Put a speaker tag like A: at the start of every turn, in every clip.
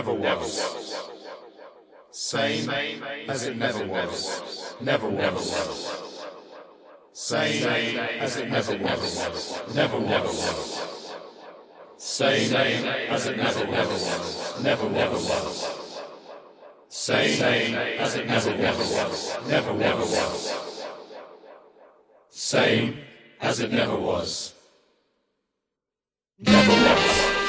A: never was. Same as it never was. Never was. Same as it never was. Never was. Same as it never was. Never was. Same as it never was. Never was. Same as it never was. Never was.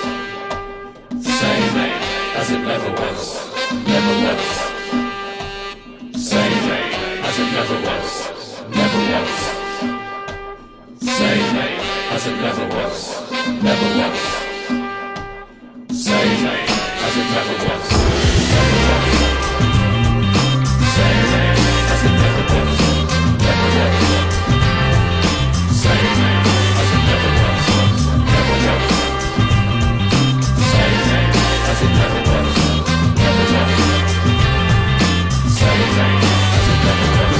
A: Same as it never was. Never was. Same as it never was. Never was. Same as it never was. Never was. Same as it never was. Never was. Same as it never was. Never was. Same as it never was. Never was. Same as it never was. Never was. Same as it never was.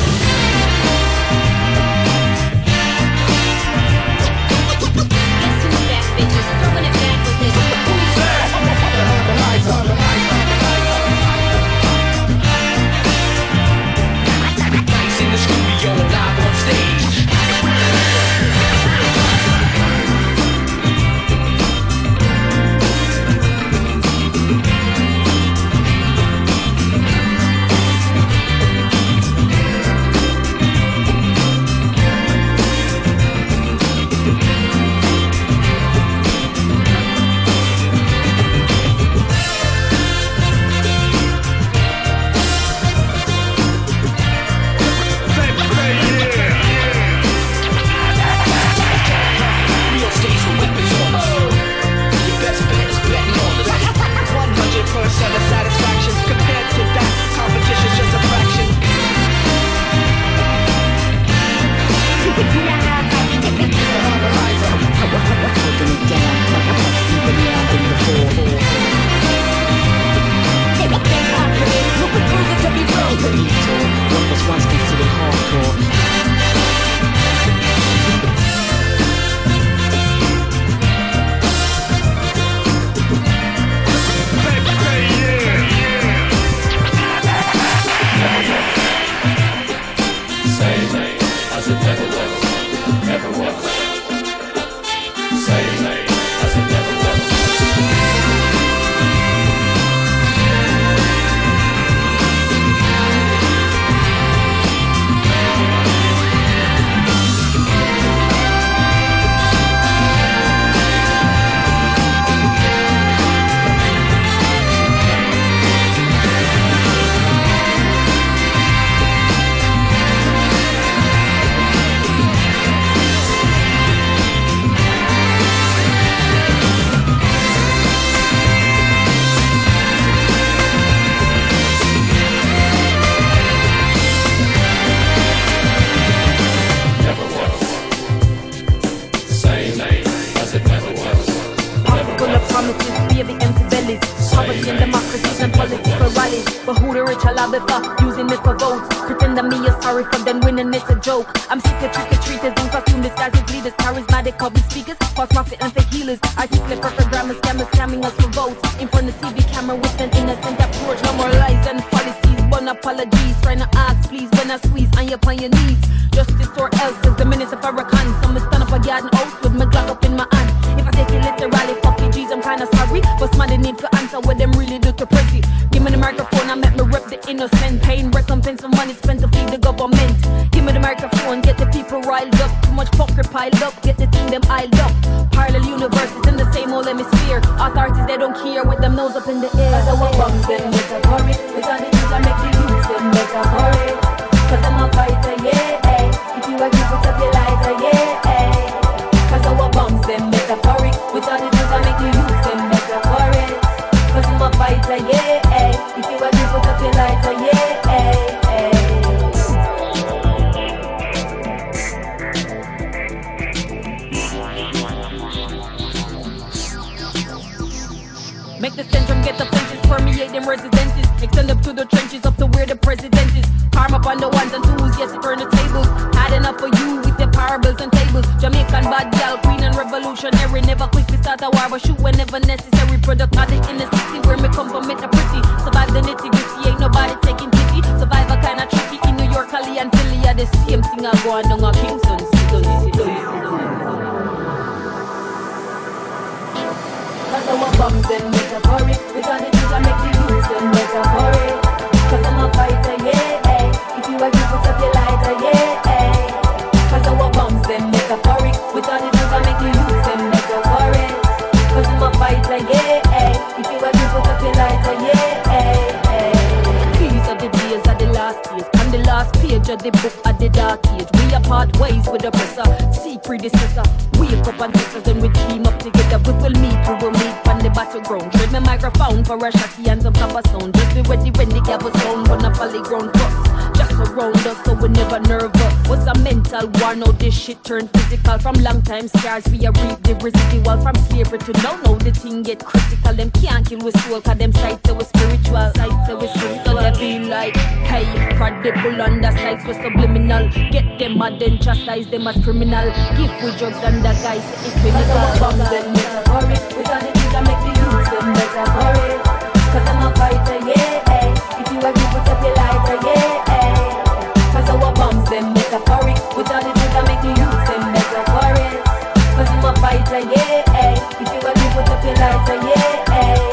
B: Guess who's back, bitches? Throwing it back with this. Who's back?
A: The lights on, the lights on, the lights on.
C: Nights in the studio, live on stage. Real stage with weapons on us. Your best bet is betting on us. 100% of satisfaction compared to that. Competition's just a fraction.
D: Holding it down like a much deeper now than before.
B: Look what proves it to be real.
D: The detour, what was once considered hardcore.
A: Same as it never was. Never was. Same as it never was. Never was. Same as it never was. Never
E: Full of
A: was.
E: promises, baby, empty bellies. Poverty and democracies and political rallies. But who the rich allow before using me for votes? Pretend that me is sorry for them winning, it's a joke. I'm sick of trick-or-treaters in costume disguises, leaders, charismatic public speakers, false prophet and fake healers. Articulate perfect grammar scammers scamming us for votes. In front of TV camera with an innocent approach. No more lies and policies, one apologies. Trying to ask, please, when I squeeze on you upon your knees. Justice or else is the minutes of Farrakhan. So me stand up a garden house with my Glock up in my hand. If I take it literally, fuck you, G's, I'm kinda sorry. But somebody need to answer what them really do to pretty. Give me the microphone and let me rep the innocent. Paying recompense for money spent to feed the government. Give me the microphone, get the people riled up. Too much fucker piled up, get the team them iled up. Parallel universes in the same old hemisphere. Authorities, they don't care with them nose up in the air. So what bums them metaphoric. It's on the news, I make the youth them metaphoric. Cause I'm a fighter, yeah. If you agree, put up your lighter, yeah. Cause our bombs them metaphoric. With all the news, I make the youth them metaphoric. Cause I'm a fighter, yeah. If you agree, put up your lighter, yeah. Make the centrum get the fences, permeate them residences. Extend up to the trenches, up to where the president is. Harm up on the ones and twos, yes, turn the tables. Had enough for you with the parables and tables. Jamaican bad gal, queen and revolutionary. Never quick to start a war, but shoot whenever necessary. Product of the inner city where me come go on down a Kingston, sit down. Cause our bombs them metaphoric, we got it to make the youth them metaphoric. Cause I'm a fighter, yeah, if you agree, put up your lighter, yeah. Cause our bombs them metaphoric, we got it to make the youth them metaphoric. Cause I'm a fighter, yeah, if you agree, put up your lighter, yeah. These are the days of the last days, on the last page of the book of the dark age. We are part ways with the oppressor, see predecessor. Wake up and sisters and we team up together. We will meet on the battleground. Trade my microphone for a shotty and some copper sound. Just be ready when the gavel sound on a polyground bus. Just around us so we never nervous. Was a mental war, now this shit turned physical. From long time scars we are reap the residual. From slavery to now the thing get critical. Them can't kill with soul cause them sights are spiritual. Sights are spiritual. They be like, hey, credible on the sights were subliminal. Get them mad and chastise them as criminal. Give with drugs and the guys it's clinical. Bombs them metaphoric, we got it to make the youth them metaphoric. Cause I'm a fighter, yeah, if you agree put up your lighter, yeah. Cause our bombs them metaphoric, we got it to make the youth them metaphoric. Cause I'm a fighter, yeah, if you agree put up your lighter, yeah.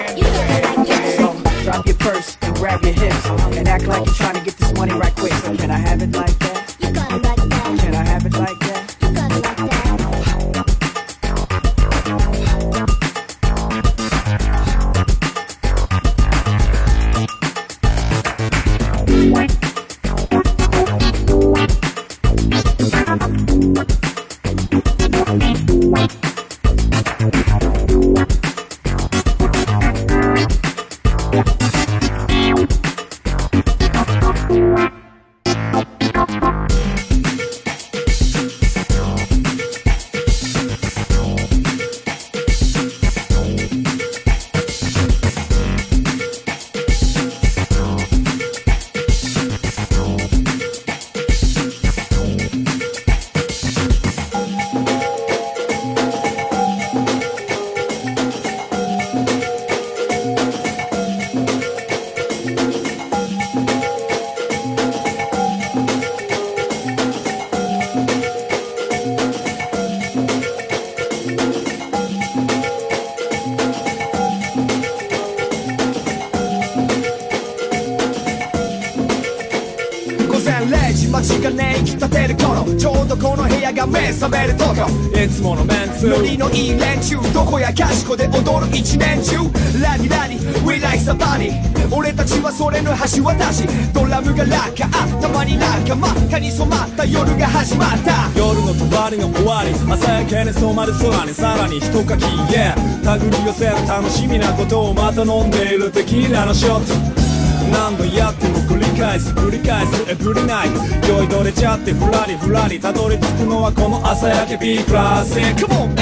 C: So drop your purse and grab your hips and act like you're trying to get this money right quick. So can I have it like that?
B: You got it like that.
C: Can I have it like that?
B: You got it like that.
F: 街がね生き立てる頃ちょうどこの部屋が目覚めるとこいつものメンツノリのいい連中どこやかしこで踊る一年中ラディラディ We like somebody 俺たちはそれの橋渡しドラムが落下頭に仲間蚊に染まった夜が始まった夜の帳の終わり朝焼けに染まる空にさらに一かき Yeah 手繰り寄せる楽しみなことをまた飲んでいるテキーラのショット何度やっても繰り返すエブリナイト酔いどれちゃってふらりふらりたどり着くのはこの朝焼け B クラス Come on!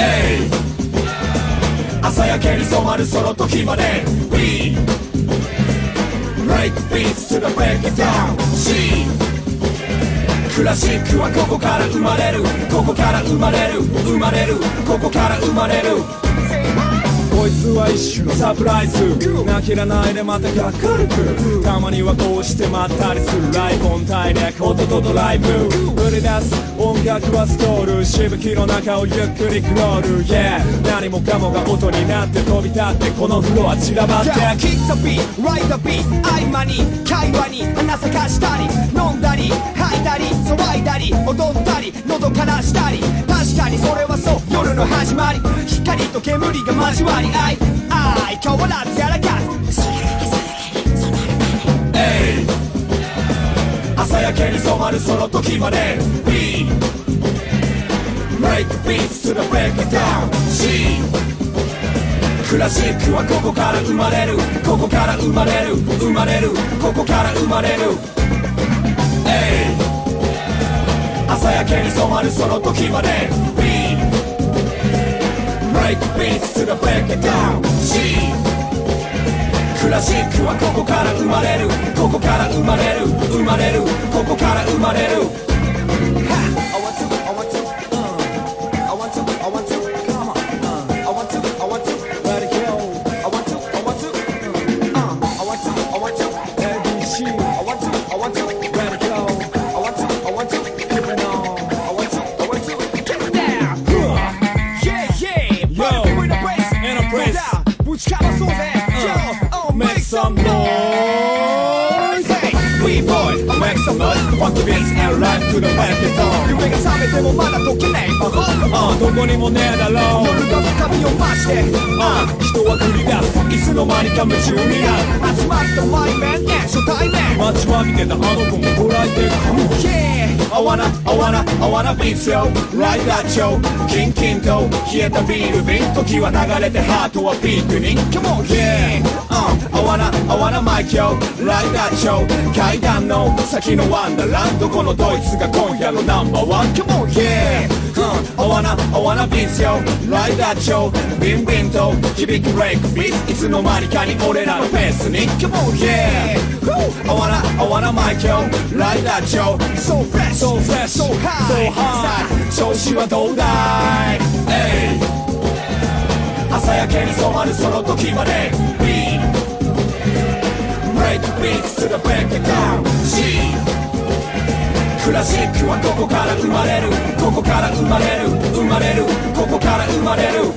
F: 朝焼けに染まるその時まで We break beats to the break it down C クラシックはここから生まれるここから生まれる生まれるここから生まれるこいつは一種のサプライズ泣きらないでまたがっかりくるたまにはこうしてまったりするライブオンタイで音とドライブ売り出す音楽はストールしぶきの中をゆっくりクロール Yeah 何もかもが音になって飛び立ってこのフロア散らばって Kick the beat, write the beat 合間に会話に花咲かしたり飲んだり吐いたり騒いだり踊ったり喉からしたり確かにそれはそう夜の始まり光と煙が交わり愛変わらずやらかす朝焼けに染まるその時まで B Break beats to the break it down C クラシックはここから生まれるここから生まれる生まれるここから生まれる朝焼けに染まるその時まで B Break beats to the break it down C クラシックはここから生まれるここから生まれる生まれるここから生まれる I want to I want to I want to I want to come on I want to I want to let it go I want to I want to I want to I want to ABC I want to I want to let it go I want to I want to keep it on I want to I want to get it down Yeah Yo in a place ぶちかまそうぜ Make some noise Hey We boys Make some noise Funky beats and rhyme to the back it on 夢が覚めてもまだ解けない魔法どこにもねえだろう夜が深みを増して人は繰り出すいつの間にか夢中になる集まったワイメン初対面待ちわびてたあの子もご来店 Yeah I wanna beat you Like that yo キンキンと冷えたビール瓶時は流れてハートはピンクに Come on yeah I wanna mic yo Like that yo 階段の先のワンダーランドこのドイツが今夜のナンバーワン Come on yeah I wanna beat you Like that yo ビンビンと響くブレイクビーツいつの間にかに俺らのペースに Come on yeah I wanna mic yo Like that yo So fresh So high 調子はどうだい朝焼けに染まるその時まで B Break beats to the break it down C クラシックはここから生まれるここから生まれる生まれるここから生まれる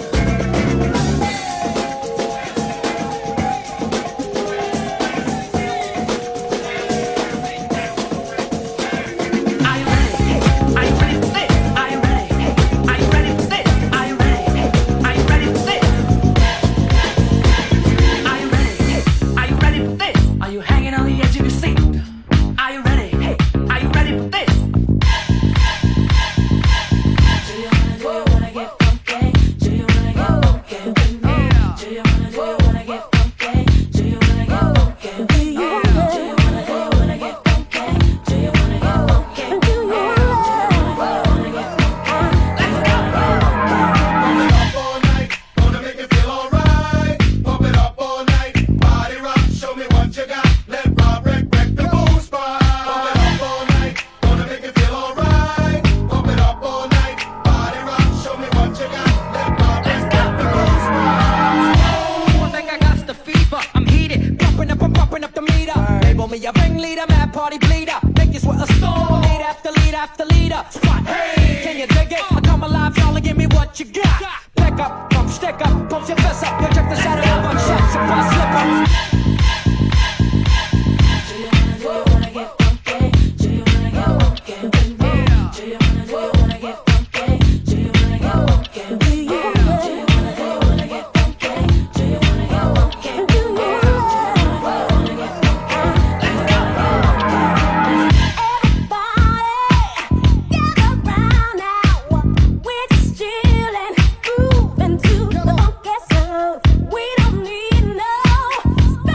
B: Moving to the funk, so we don't need no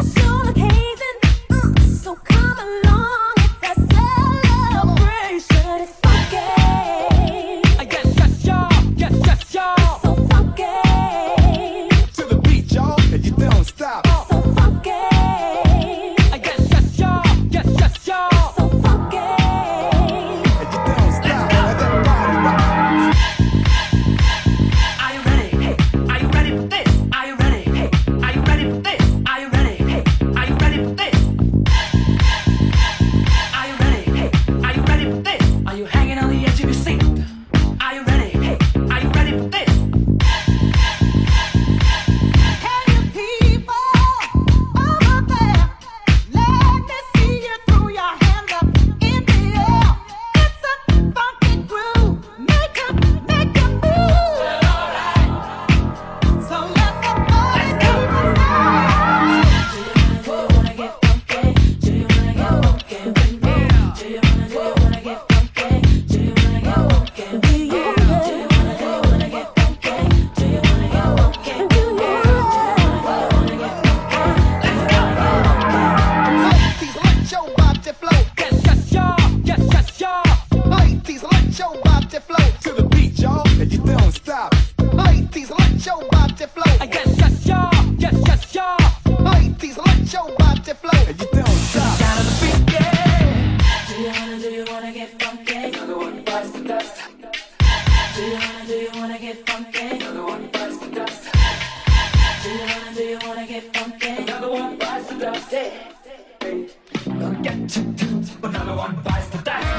G: number one vice to die.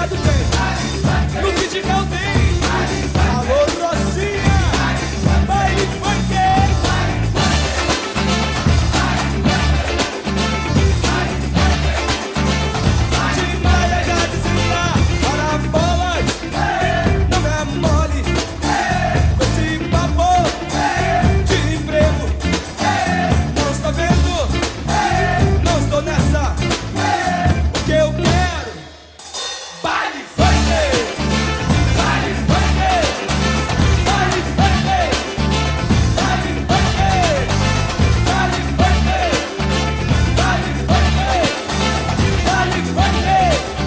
F: lado tem, no Vidigal tem. Alô, Rocinha, baile funk. De Maia já dizia, para bolas, não é mole. Com esse papo de emprego, não está vendo, não estou nessa. O que eu quero, baile funk, baile funk, baile funk, baile funk, baile funk, baile funk, baile funk, baile funk.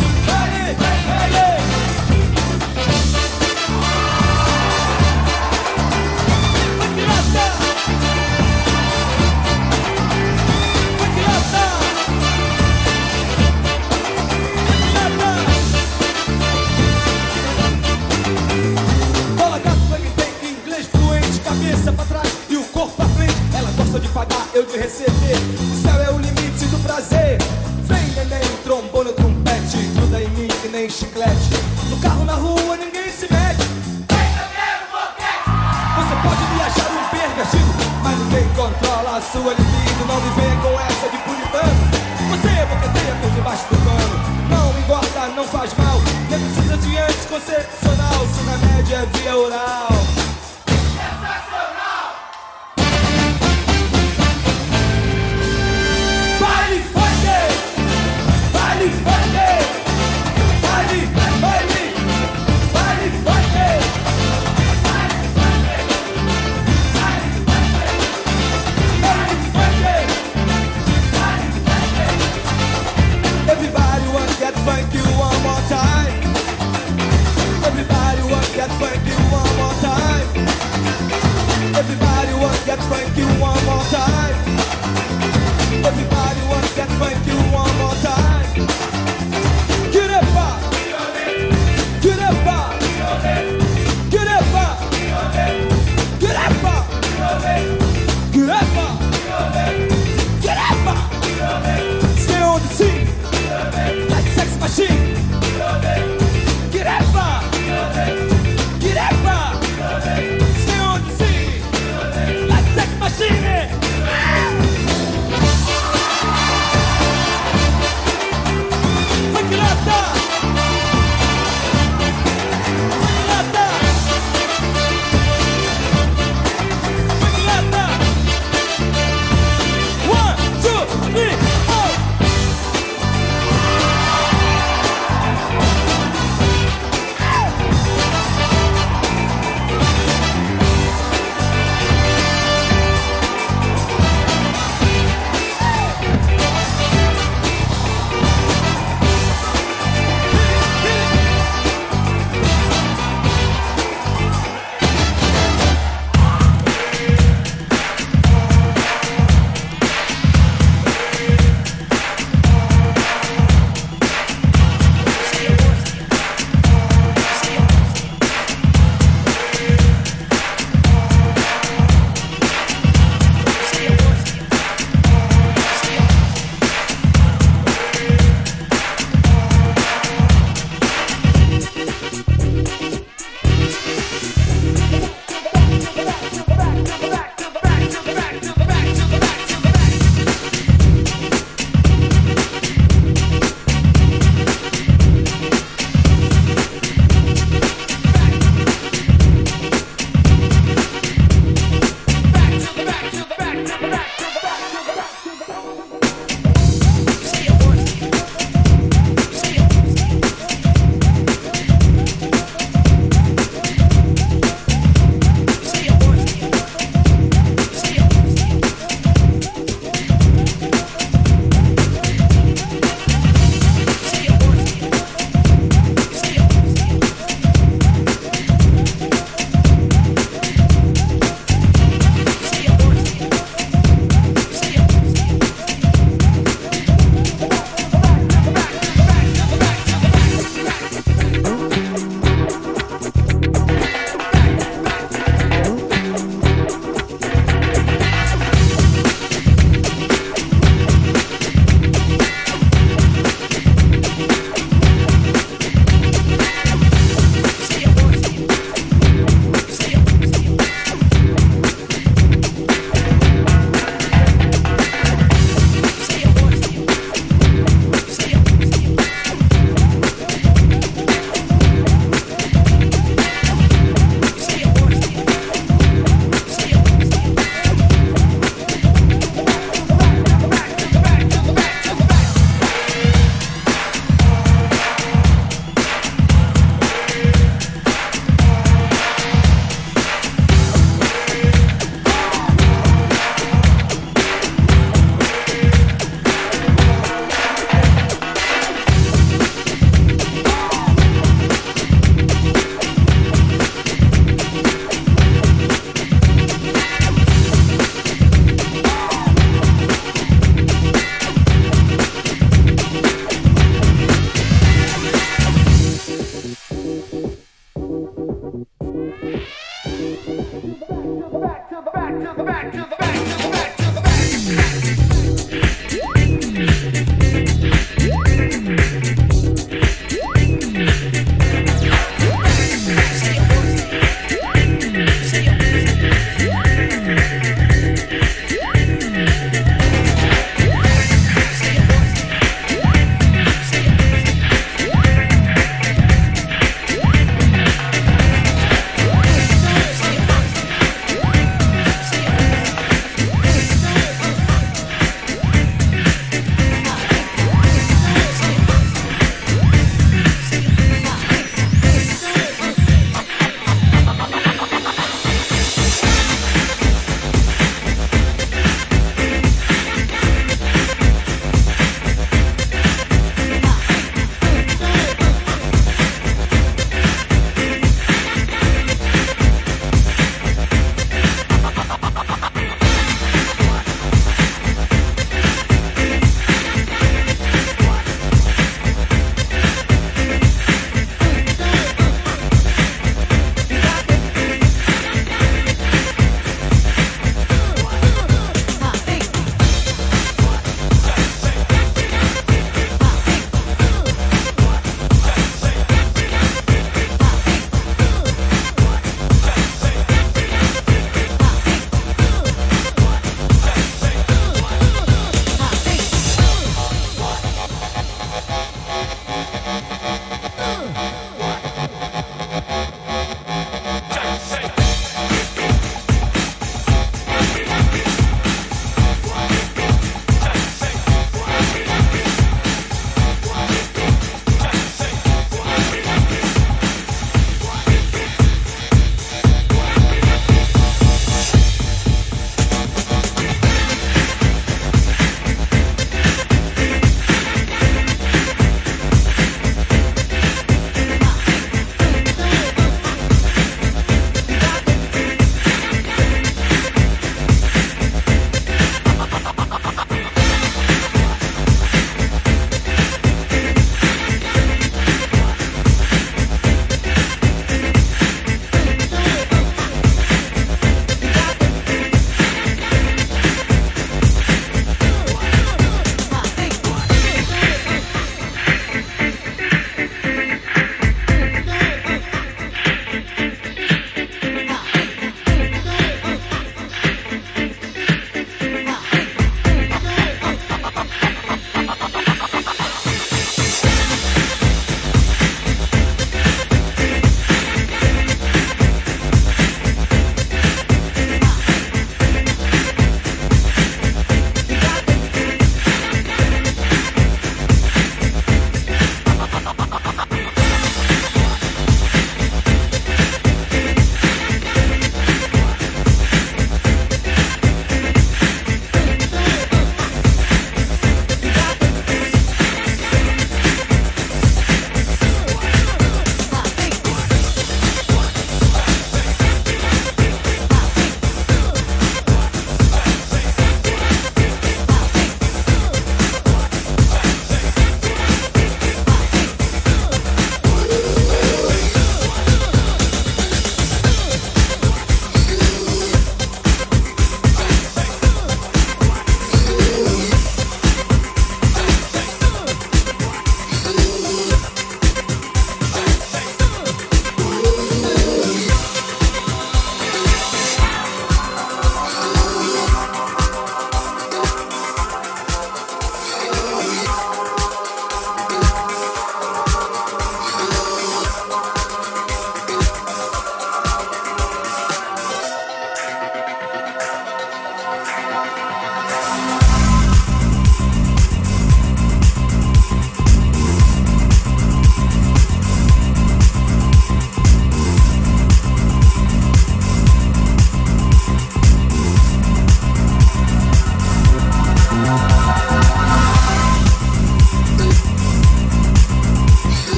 F: Bola gato, funk tem inglês fluente, cabeça pra trás e o corpo pra frente. Ela gosta de pagar, eu de receber. O céu é o limite do prazer. Vem neném, trombone ou trompete, gruda em mim que nem chiclete. No carro, na rua, ninguém se mete. Você pode viajar um pervertido, mas ninguém controla a sua libido. Não me venha com essa de puritano. Você boqueteia por debaixo do pano. Não engorda, não faz mal, nem precisa de anticoncepcional. Se na média é via oral. Baile funk, baile funk, baile, baile, baile funk. Everybody want to get funky one more time. Everybody want to get funky one more time.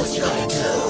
G: what you gonna do?